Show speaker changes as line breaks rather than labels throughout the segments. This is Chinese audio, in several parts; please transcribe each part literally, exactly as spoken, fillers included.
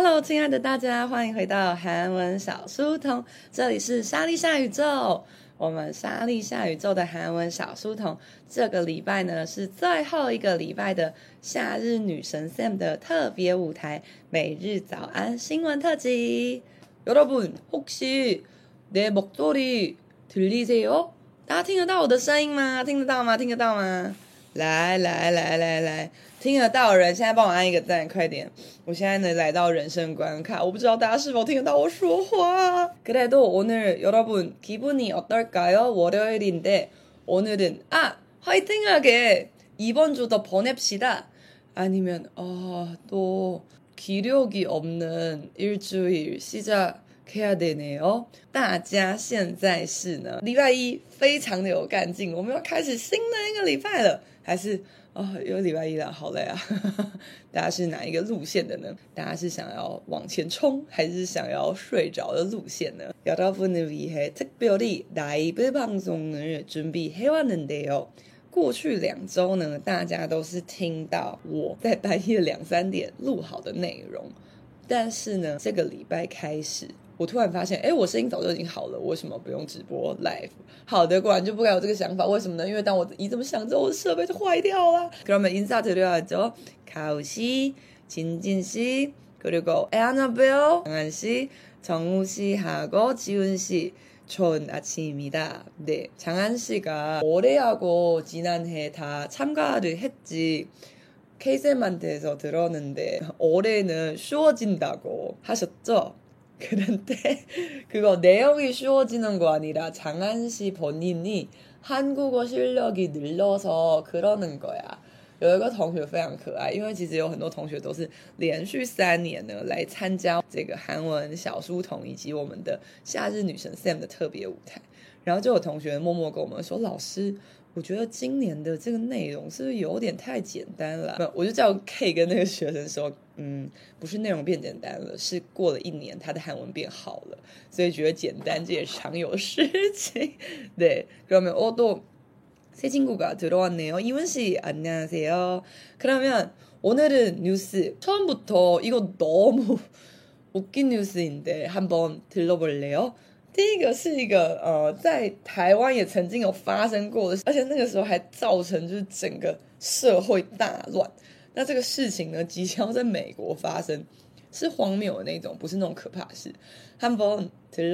Hello， 親愛的大家，歡迎回到韓文小書童，這裡是莎莉夏宇宙。我們莎莉夏宇宙的韓文小書童，這個禮拜呢是最後一個禮拜的夏日女神 Sam 的特別舞台每日早安新聞特輯。여러분 혹시 내 목소리 들리세요？大家聽得到我的聲音嗎？聽得到嗎？聽得到嗎？來來來來來，聽得到的人現在幫我按一個讚，快點！我現在呢來到人生關卡，我不知道大家是否聽得到我說話。그래도 오늘 여러분 기분이 어떨까요? 월요일인데 오늘은 아 화이팅하게 이번 주도 보냅시다. 아니면 어, 또 기력이 없는 일주일 시작해야 되네요. 大家现在是呢禮拜一非常的有幹勁，我們要開始新的一個禮拜了。還是哦，有禮拜一了，好累啊！大家是哪一個路線的呢？大家是想要往前衝，還是想要睡着的路線呢？여러분을 위해 특별히 라이브 방송을 준비해왔는데요。過去兩週呢，大家都是聽到我在半夜兩三點錄好的內容，但是呢，這個禮拜開始，我突然發現，哎，我聲音早就已經好了，我為什麼不用直播 live？ 好的，果然就不該有這個想法。為什麼呢？因為當我一這麼想之後，我的設備就壞掉了。그러면 인사드려야죠. 가우 씨, 진진 씨, 그리고 에아나벨, 장한 씨, 정우 씨하고 지훈 씨. 좋은 아침입니다. 네, 장한 씨가 올해하고 지난해 다 참가를 했지. 케이쌤한테서 들었는데 올해는 쉬워진다고 하셨죠? 그런데 그거 내용이 쉬워지는 거 아니라 장한 씨 본인이 한국어 실력이 늘어서 그러는 거야. 有一個同學非常可愛，因為其實有很多同學都是連續三年呢來參加這個韓文小書童以及我們的夏日女神 Sam 的特別舞台，然後就有同學默默跟我們說，老師，我覺得今年的這個內容是不是有點太簡單了？我就叫 K 跟那個學生說，嗯，不是內容變簡單了，是過了一年他的韓文變好了，所以覺得簡單這也常有事情。對，그러면 어 또 새 친구가 들어왔네요. 이문씨 안녕하세요. 그러면 오늘은 뉴스 처음부터 이거 너무 웃긴 뉴스인데 한번 들러볼래요? 第一個是一個呃，在台灣也曾經有發生過的，而且那個時候還造成就是整個社會大亂。那這個事情呢，即將在美國發生，是荒謬的那種，不是那種可怕的事。한번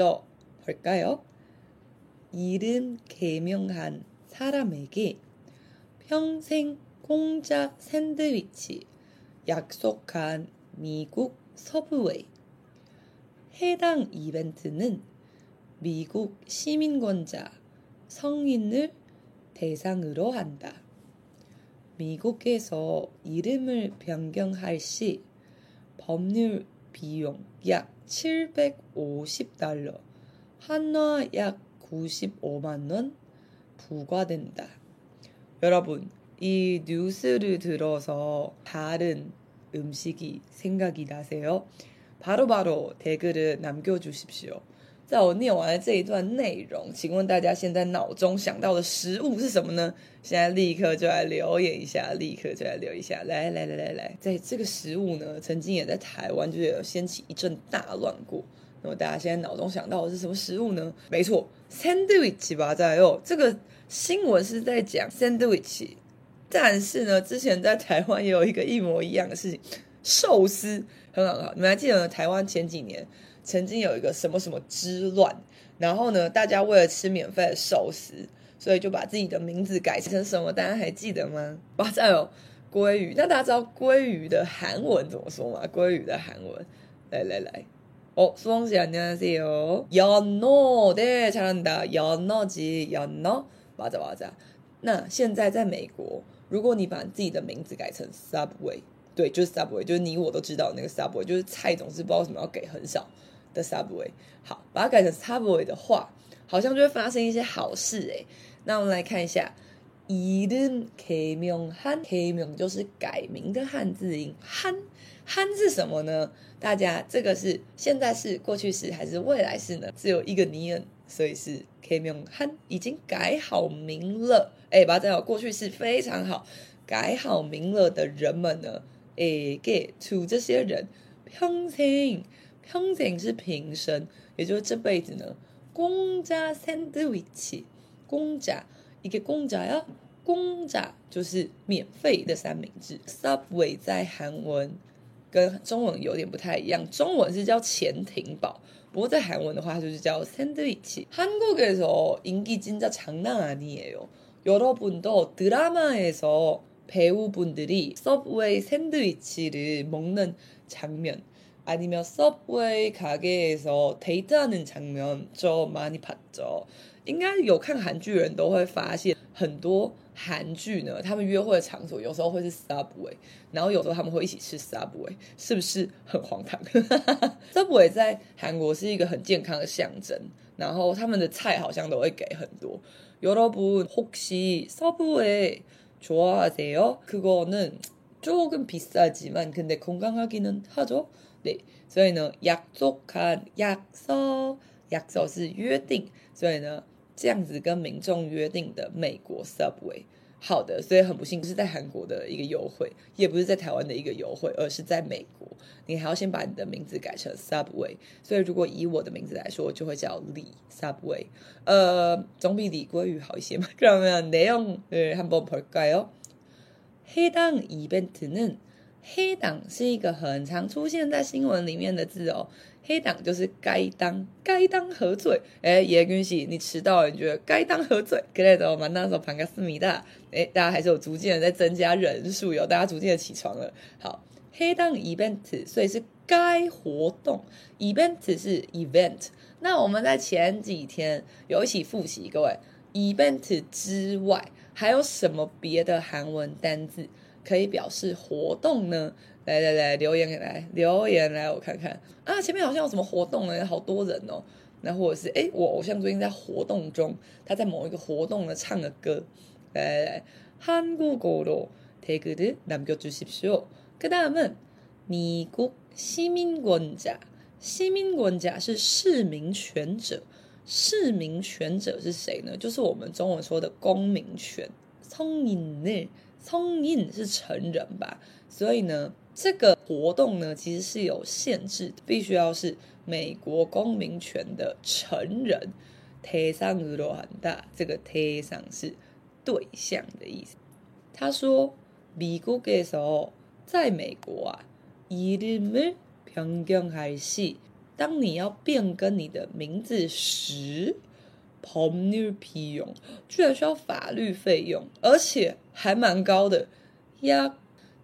들러볼까요? 이름 개명한 사람에게 평생 공짜 샌드위치 약속한 미국 서브웨이. 해당 이벤트는 미국 시민권자 성인을 대상으로 한다. 미국에서 이름을 변경할 시 법률 비용 약 칠백오십 달러, 한화 약 구십오만 원 부과된다. 여러분, 이 뉴스를 들어서 다른 음식이 생각이 나세요? 바로바로 댓글을 남겨주십시오. 在我念完了這一段內容，請問大家現在腦中想到的食物是什麼呢？現在立刻就來留言一下，立刻就來留一下。來來來來來，在這個食物呢，曾經也在台灣就是有掀起一陣大亂過。那麼大家現在腦中想到的是什麼食物呢？沒錯， 샌드위치 맞아요。這個新聞是在講 샌드위치， 但是呢，之前在台灣也有一個一模一樣的事情，壽司很好，你們還記得呢？台灣前幾年曾經有一個什麼什麼之亂，然後呢，大家為了吃免費的壽司，所以就把自己的名字改成什麼？大家還記得嗎？哇，再有鮭魚，那大家知道鮭魚的韓文怎麼說嗎？鮭魚的韓文，來來來。어, 수홍씨 안녕하세요. 연어, 네, 잘한다. 연어지, 연어. 맞아, 맞아. 那现在在美國，如果你把自己的名字改成 Subway， 對，就是 Subway， 就是你我都知道的那個 Subway， 就是蔡總是不知道為什麼要給很少的 Subway。好，把它改成 Subway 的話，好像就會發生一些好事誒。那我們來看一下，이름 개명한， 개명就是改名的漢字音，한 한是什麼呢？大家這個是現在式、過去式還是未來式呢？只有一個니은，所以是개명한，已經改好名了。哎，把它講過去式非常好，改好名了的人們呢，哎，給to這些人 평생， 평생是平生，也就是這輩子呢。공짜 샌드위치， 공짜 이게 공짜야？ 공짜就是免費的三明治。Subway 在韓文跟中文有點不太一樣，中文是叫潛艇堡，不過在韓文的話就是叫샌드위치。 한국에서 인기 진짜 장난 아니에요. 여러분도 드라마에서 배우분들이 서브웨이 샌드위치를 먹는 장면 아니면 서브웨이 가게에서 데이트하는 장면 저 많이 봤죠. 應該有看韓劇人都會發現，很多韓劇呢，他們約會的場所有時候會是 Subway， 然後有時候他們會一起吃 Subway， 是不是很荒唐？Subway 在韓國是一個很健康的象徵，然後他們的菜好像都會給很多。여러분 혹시 서브웨이 좋아하세요? 그거는 조금 비싸지만 근데 건강하기는 하죠. 네, 所以呢약속한 약속 약속是約定，所以呢這樣子跟民眾約定的美國 Subway。好的，所以很不幸不是在韓國的一個優惠，也不是在台灣的一個優惠，而是在美國，你還要先把你的名字改成 Subway。所以如果以我的名字來說，就會叫李 Subway。呃，總比李鮭魚好一些嘛。그러면 내용을 한번 볼까요？ 해당 이벤트는黑黨是一個很常出現在新聞裡面的字哦。黑黨就是該當該當何罪？哎，예균씨你遲到了，你覺得該當何罪？그래도 만나서 반갑습니다。哎，大家還是有逐漸的在增加人數，有大家逐漸的起床了。好，黑黨 event， 所以是該活動 ，event 是 event。那我們在前幾天有一起複習，各位 event 之外還有什麼別的韓文單字可以表示活動呢？來來來，留言來留言來，我看看啊，前面好像有什麼活動呢？好多人哦。那或者是哎，我偶像最近在活動中，他在某一個活動呢唱的歌。來來來，한국어로 댓글을 남겨주십시오。그 다음은 미국 시민권자， 시민권자是市民權者，市民權者是誰呢？就是我們中文說的公民權。성인을 성인是成人吧，所以呢，這個活動呢其實是有限制的，必須要是美國公民權的成人。대상으로 한다，這個대상是對象的意思。他說，미국에서在美國啊，이름을 변경할 시，當你要變更你的名字時，법률 비용居然需要法律費用，而且還蠻高的。약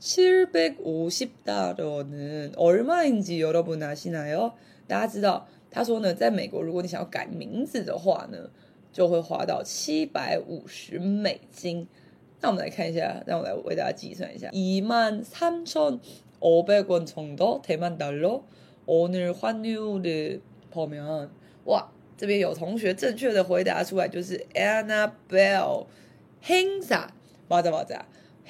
칠백오십 달러는 얼마인지 여러분 아시나요？ 大家知道，他說呢，在美國，如果你想要改名字的話呢，就會花到七百五十美金。那我們來看一下，讓我來為大家計算一下，이만 삼천오백 원 정도 대만 달러 오늘 환율을 보면， 哇！這邊有同學正確的回答出來，就是 Annabelle 행사， 맞아 맞아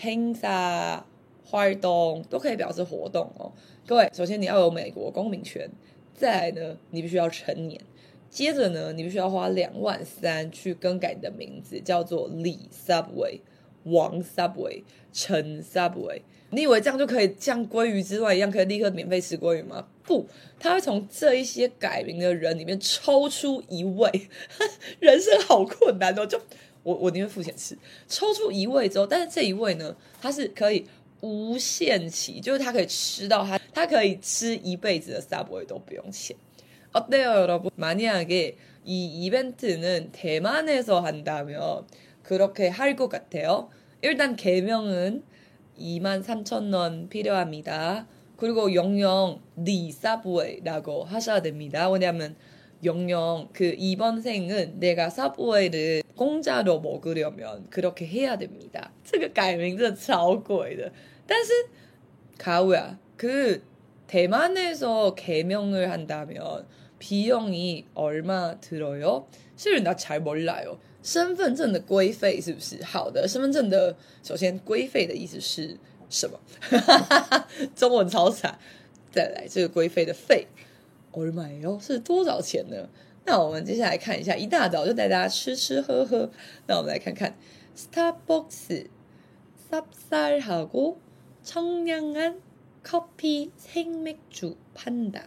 행사 활동都可以表示活動哦。各位，首先你要有美國公民權，再來呢，你必須要成年，接着呢，你必須要花兩萬三去更改你的名字，叫做李 Subway、王 Subway、陳 Subway。你以為這樣就可以像鮭魚之亂一樣，可以立刻免費吃鮭魚嗎？不，他會從這一些改名的人裡面抽出一位，人生好困難哦。就我我寧願付錢吃，抽出一位之後，但是這一位呢，他是可以無限期，就是他可以吃到他，他可以吃一輩子的 Subway都不用錢。어때요, 여러분? 만약에 이 이벤트는 대만에서 한다면 그렇게 할 것 같아요. 일단 개명은 이만 삼천 원 필요합니다. 그리고 영영 리 서브웨이라고 하셔야 됩니다. 왜냐하면 영영 그 이번 생은 내가 서브웨이를 공짜로 먹으려면 그렇게 해야 됩니다. 这个改名真的超貴的. 但是 가우야, 그 대만에서 개명을 한다면 비용이 얼마 들어요? 실은 나 잘 몰라요. 身份證的規費是不是？好的，身份證的首先規費的意思是什麼？中文超慘。再來這個規費的費 얼마예요？ 是多少錢呢？那我們接下來看一下，一大早就帶大家吃吃喝喝。那我們來看看 스타벅스 쌉쌀하고 청량한 커피 생맥주 판다.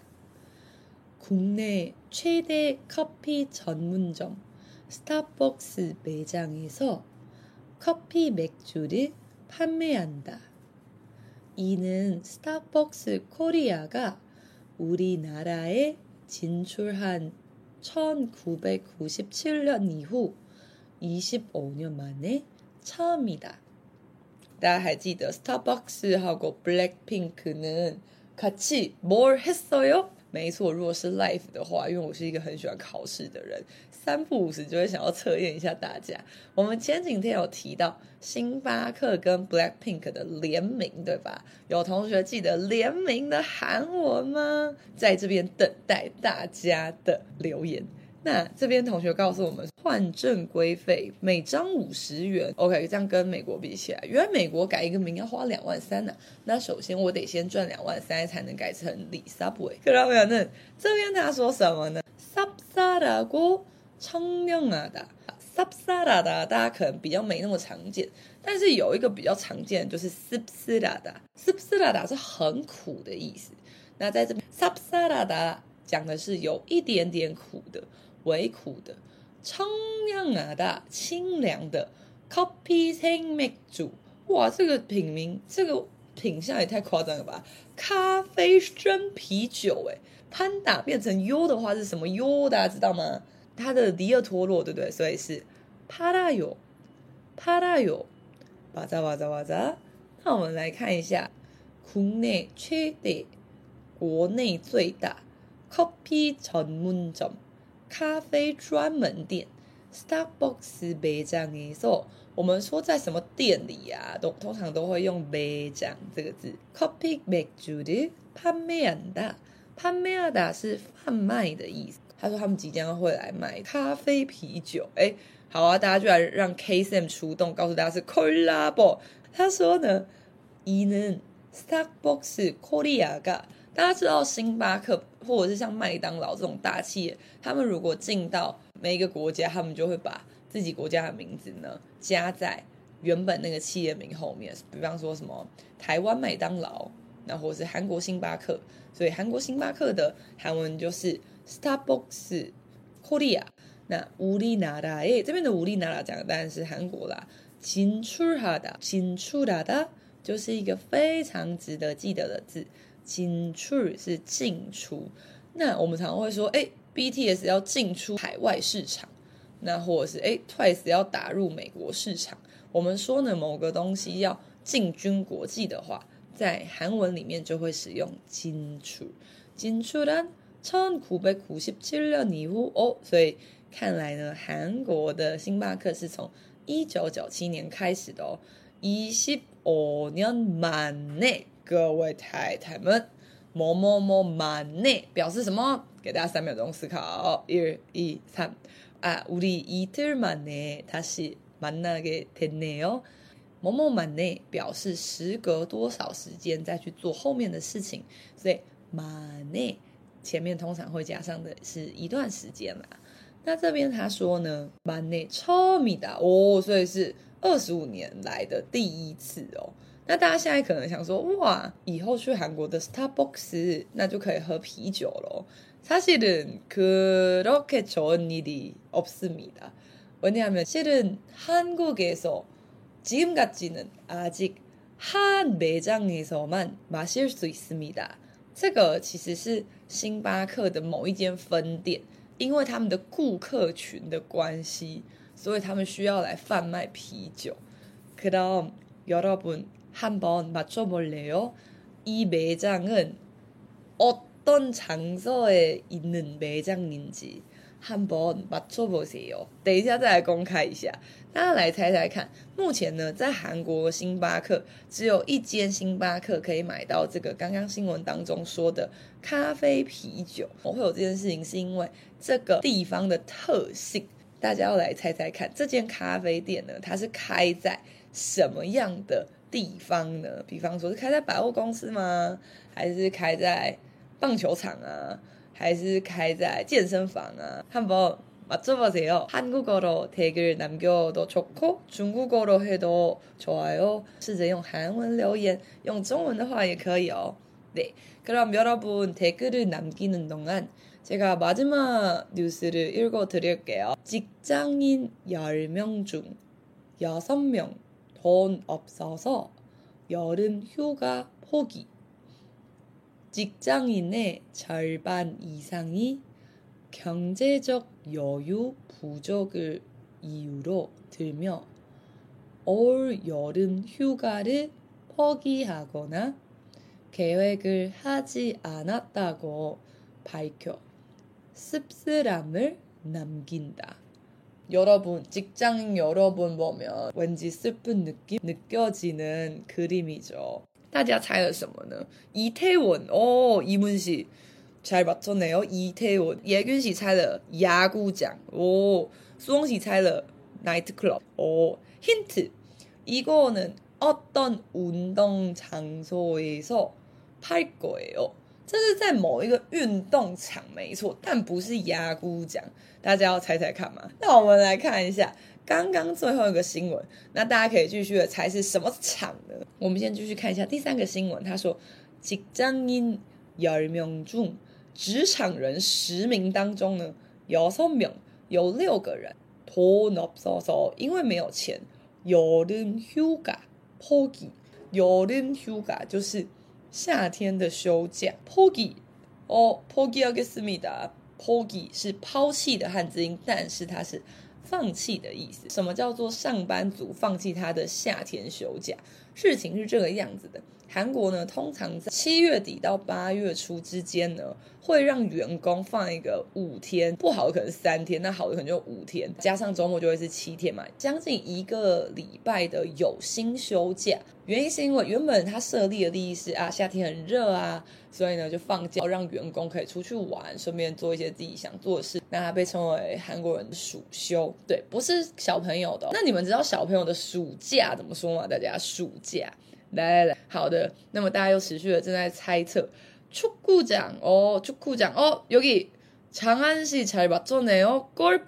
국내 최대 커피 전문점 스타벅스 매장에서 커피 맥주를 판매한다. 이는 스타벅스 코리아가 우리나라에 진출한 천구백구십칠 년 이후 이십오 년 만에 처음이다. 大家还记得 스타벅스하고 블랙핑크는 같이 뭘 했어요? 没錯，如果是 live 的話，因為我是一個很喜歡考試的人，三不五時就會想要測驗一下大家。我們前幾天有提到星巴克跟 Blackpink 的聯名，對吧？有同學記得聯名的韓文嗎？在這邊等待大家的留言。那這邊同學告訴我們，換正規費每張五十元 ，OK， 這樣跟美國比起來，原來美國改一個名要花兩萬三呢、啊。那首先我得先賺兩萬三才能改成里 Subway。看到沒有？那這邊他說什麼呢？ 쌉싸라고 청량하다。 쌉싸라다 大家可能比較沒那麼常見，但是有一個比較常見的就是 씁쓸하다。 씁쓸하다 是很苦的意思。那在這邊 쌉싸라다 講的是有一點點苦的。微苦的，청량하다清涼的，커피 생맥주，哇，這個品名，這個品相也太誇張了吧！咖啡生啤酒，哎，潘達變成 U 的話是什麼 U？ 大家知道嗎？它的迪奧托洛，對不對？所以是팔아요，팔아요，哇喳哇喳哇喳。那我們來看一下，국내 최대，國內最大，커피 전문점。咖啡專門店 Starbucks 매장에서，我們說在什麼店裡啊，都通常都會用매장這個字。커피 맥주를 판매한다， 판매하다是販賣的意思。他說他們即將會來賣咖啡啤酒。哎，好啊，大家就來讓 K Sam 出動，告訴大家是 콜라보。他說呢，이는 스타벅스 코리아가，大家知道星巴克或者是像麥當勞這種大企業，他們如果進到每一個國家，他們就會把自己國家的名字呢加在原本那個企業名後面。比方說什麼台灣麥當勞，那或者是韓國星巴克，所以韓國星巴克的韓文就是 Starbucks Korea。那우리나라에這邊的우리나라講的當然是韓國啦。진출하다， 진출하다就是一個非常值得記得的字。진출是進出，那我們常常會說，哎 ，B T S 要進出海外市場，那或者是哎 ，Twice 要打入美國市場。我們說呢，某個東西要進軍國際的話，在韓文裡面就會使用진출。진출한 천구백구십칠 년以後哦，所以看來呢，韓國的星巴克是從一九九七年開始的哦，이십오 년 만에。各位太太們，某某某만에表示什麼？給大家三秒鐘思考。一、二、三。啊，우리 이틀 만에 다시 만나게 됐네요。某某만에表示時隔多少時間再去做後面的事情，所以만에前面通常會加上的是一段時間啦。那這邊他說呢，만에 처음이다哦，所以是二十五年來的第一次哦。那大家現在可能想說，哇，以後去韓國的 Starbucks 那就可以喝啤酒了。사실은 그렇게 좋은 일이 없습니다. 왜냐하면 실은 한국에서 지금까지는 아직 한 매장에서만 마실 수 있습니다. 這個其實是星巴克的某一間分店，因為他們的顧客群的關係，所以他們需要來販賣啤酒。그럼 여러분 한번 맞춰볼래요? 이 매장은 어떤 장소에 있는 매장인지 한번 맞춰보세요. 等一下再來公開一下，大家來猜猜看。目前呢，在韓國星巴克只有一間星巴克可以買到這個剛剛新聞當中說的咖啡啤酒。我會有這件事情是因為這個地方的特性，大家要來猜猜看，這間咖啡店呢，它是開在什麼樣的地方呢？比方說是開在百貨公司嗎？還是開在棒球場啊？還是開在健身房啊？한번 맞춰보세요. 한국어로 댓글 남겨도 좋고 중국어로 해도 좋아요. 試着用韓文留言，用中文的話也可以哦。 네, 그럼 여러분 댓글을 남기는 동안 제가 마지막 뉴스를 읽어드릴게요. 직장인 열 명 중 여섯 명 돈 없어서 여름 휴가 포기. 직장인의 절반 이상이 경제적 여유 부족을 이유로 들며 올 여름 휴가를 포기하거나 계획을 하지 않았다고 밝혀 씁쓸함을 남긴다. 여러분, 직장인 여러분 보면 왠지 슬픈 느낌 느껴지는 그림이죠. 大家猜了什么呢? 이태원, 오, 이문씨 잘 맞췄네요. 이태원. 예균씨猜了 야구장. 오, 수홍씨猜了 나이트클럽. 오, 힌트. 이거는 어떤 운동 장소에서 팔 거예요. 这是在某一个运动场没错，但不是牙菇奖，大家要猜猜看吗？那我们来看一下刚刚最後一個新聞，那大家可以繼續的猜是什麼場呢？我們先繼續看一下第三個新聞，他說직장인 열 명 중職場人十名當中呢，여섯 명有六個人돈 없어서因為沒有錢여름 휴가 포기 여름 휴가就是夏天的休假 포기哦 포기하겠습니다 포기是拋棄的漢字音，但是它是放棄的意思。什麼叫做上班族放棄他的夏天休假？事情是這個樣子的，韓國呢通常在七月底到八月初之間呢，會讓員工放一個五天，不好的可能是三天，那好的可能就五天，加上週末就會是七天嘛，將近一個禮拜的有薪休假。原因是因為原本他設立的利益是啊，夏天很熱啊，所以呢就放假，讓員工可以出去玩，順便做一些自己想做的事。那它被稱為韓國人的暑休，對，不是小朋友的哦。那你們知道小朋友的暑假怎麼說嗎？大家暑假，來來來，好的。那麼大家又持續的正在猜測축구장 어 축구장 어 여기 장안시 잘 맞췄네요.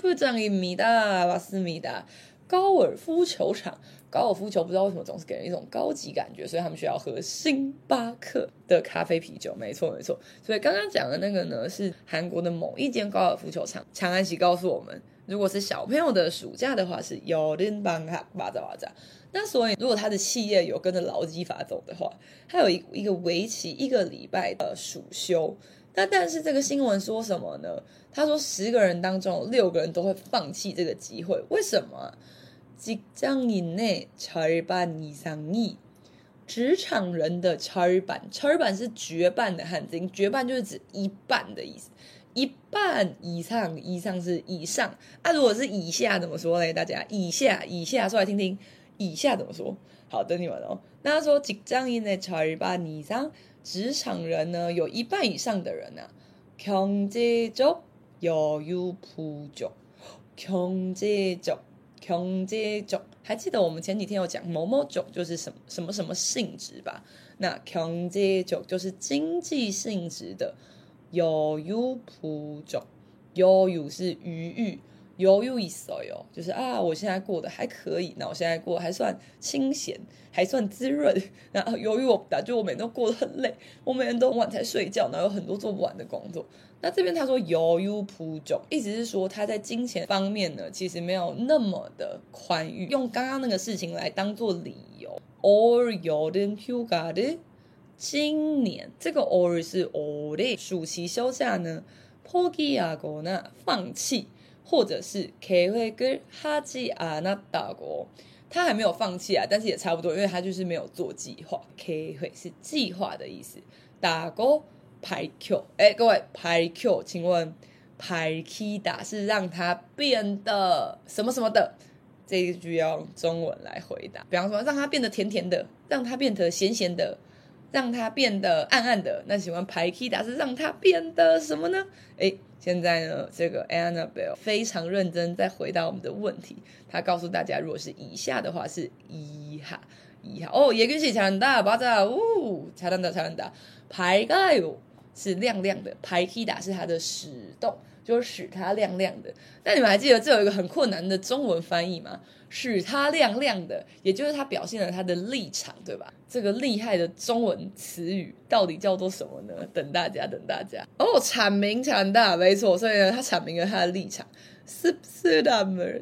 골프장입니다. 맞습니다. 高爾夫球場，高爾夫球不知道為什麼總是給人一種高級感覺，所以他們需要喝星巴克的咖啡啤酒。沒錯沒錯，所以剛剛講的那個呢是韓國的某一間高爾夫球場。長安喜告訴我們，如果是小朋友的暑假的話是여름방학 맞아 맞아。那所以如果他的企業有跟着勞基法走的話，他有一一個為期一個禮拜的暑休。那但是這個新聞說什麼呢？他說十個人當中有六個人都會放棄這個機會，為什麼？직장인의 절반 이상이職場人的절반，절반是絕半的漢字音，絕半就是指一半的意思，一半以上，以上是以上啊。如果是以下怎麼說嘞？大家以下以下說來聽聽，以下怎麼說？好，等你們哦。那他說직장인의 절반 이상，職場人呢有一半以上的人啊，경제적 여유 부족，경제적 경제적，還記得我們前幾天有講某某種就是什麼什麼什麼性質吧？那경제적就是經濟性質的，여유 부족，여유是餘裕，여유 있어요就是啊，我現在過得還可以，那我現在過得還算清閒，還算滋潤。然後由於我就我每天都過得很累，我每天都很晚才睡覺，然後有很多做不完的工作。那這邊他說여유 부족，意思是說他在金錢方面呢，其實沒有那麼的寬裕，用剛剛那個事情來當做理由。올 여름 휴가를今年這個 올是올해暑期休假呢，포기하거나放棄，或者是계획을 하지 않았다고，他還沒有放棄啊，但是也差不多，因為他就是沒有做計劃。계획是計劃的意思。다고 밝혀，哎，各位밝혀，請問밝히다是讓它變得什麼什麼的？這一句要用中文來回答。比方說，讓它變得甜甜的，讓它變得鹹鹹的，讓它變得暗暗的。那請問밝히다是讓它變得什麼呢？哎，現在呢，這個 Annabelle 非常認真在回答我們的問題。他告訴大家，如果是以下的話是이하 이하。哦，예균씨 잘한다，맞아，오，잘한다 잘한다。밝아요 是亮亮的，밝히다是它的使動，就是使它亮亮的。那你們還記得這有一個很困難的中文翻譯嗎？使它亮亮的，也就是它表現了它的立場，對吧？這個厲害的中文詞語到底叫做什麼呢？等大家，等大家。哦，闡明強大，沒錯。所以呢，他闡明了他的立場。씁쓸함을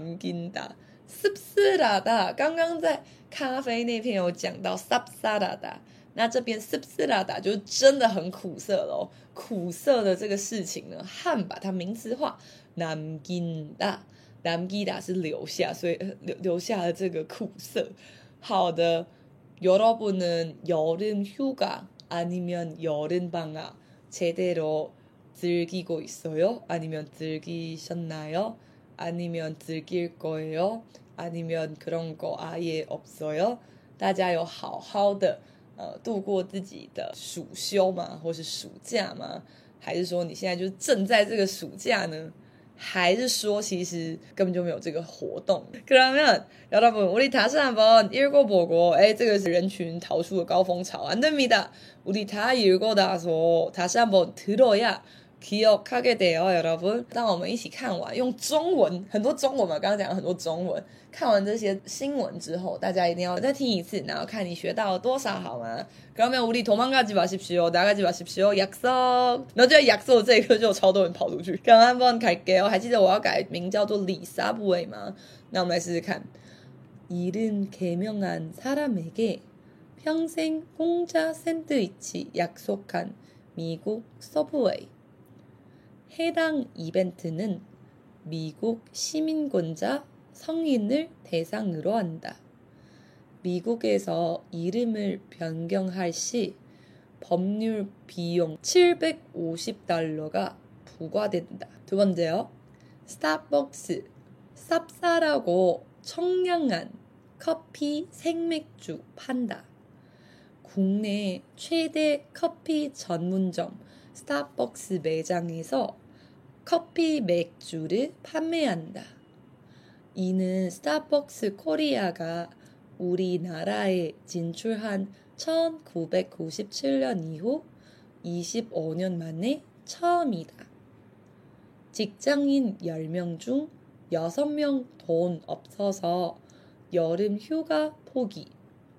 남긴다，씁쓸하다。剛剛在咖啡那篇有講到쌉싸라다，那這邊씁쓸하다就是真的很苦澀咯。苦澀的這個事情呢，漢把它名詞化，남긴다。남기다是留下，所以留留下了這個苦澀。好的， 여러분은 여름 휴가 아니면 여름 방학 제대로 즐기고 있어요? 아니면 즐기셨나요? 아니면 즐길 거예요? 아니면 그런 거 아예 없어요? 大家有好好的呃度過自己的暑休嗎？或是暑假嗎？還是說你現在就正在這個暑假呢？還是說其實根本就沒有這個活動。그러면 여러분 우리 다시 한번 읽어보고 에, 這個是人群逃出的高峰潮 안됩니다. 우리 다 읽고 나서 다시 한번 들어야 기억하게 돼요, 여러분. 當我們一起看完用中文很多中文嘛，剛剛講了很多中文，看完這些新聞之後，大家一定要再聽一次，然後看你學到了多少，好嗎？ 그러면 우리 도망가지 마십시오. 나가지 마십시오. 약속. 然後就在약속這一刻就有超多人跑出去。그럼 한번 갈게요. 還記得我要改名叫做李사부웨嗎？那我們來試試看。이른 개명한 사람에게 평생 공짜 샌드위치 약속한 미국 서브웨이. 해당 이벤트는 미국 시민권자 성인을 대상으로 한다. 미국에서 이름을 변경할 시 법률 비용 칠백오십 달러가 부과된다. 두 번째요. 스타벅스 쌉싸라고 청량한 커피 생맥주 판다. 국내 최대 커피 전문점 스타벅스 매장에서 커피 맥주를 판매한다. 이는 스타벅스 코리아가 우리나라에 진출한 천구백구십칠 년 이후 이십오 년 만에 처음이다. 직장인 열 명 중 여섯 명 돈 없어서 여름 휴가 포기.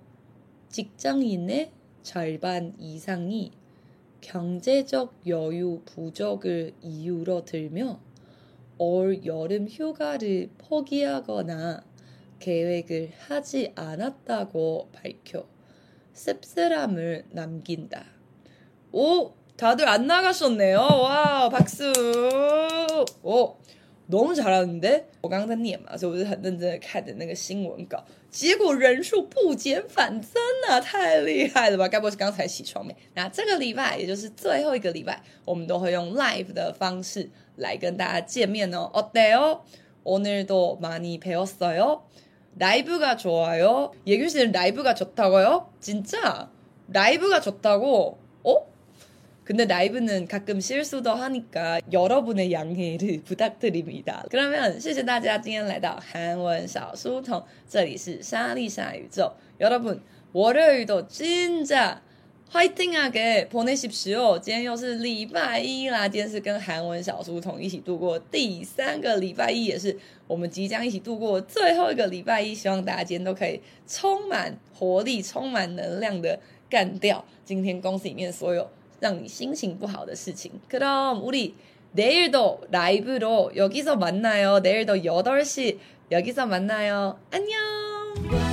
직장인의 절반 이상이 경제적 여유 부족을 이유로 들며 올 여름 휴가를 포기하거나 계획을 하지 않았다고 밝혀 씁쓸함을 남긴다. 오, 다들 안 나가셨네요. 와, 박수. 오, 너무 잘하는데? 我刚刚在念嘛，所以我是很认真的看的那个新聞稿，結果人數不減反增啊，太厲害了吧？該不會是剛才起床沒？那這個禮拜，也就是最後一個禮拜，我們都會用 live 的方式來跟大家見面哦。어때요? 오늘도 많이 배웠어요? 라이브가 좋아요? 예균 씨는 라이브가 좋다고요? 진짜? 라이브가 좋다고? 어? 근데 라이브는 가끔 실수도 하니까 여러분의 양해를 부탁드립니다. 그러면 謝謝大家今天來到韓文小書童，這裡是莎莉莎宇宙。여러분 월요일도 진짜 화이팅하게 보내십시오。今天又是禮拜一啦，今天是跟韓文小書童一起度過第三個禮拜一，也是我們即將一起度過最後一個禮拜一。希望大家今天都可以充滿活力、充滿能量的幹掉今天公司裡面所有讓你心情不好的事情。그럼 우리 내일도 라이브로 여기서 만나요. 내일도 여덟 시 여기서 만나요. 안녕.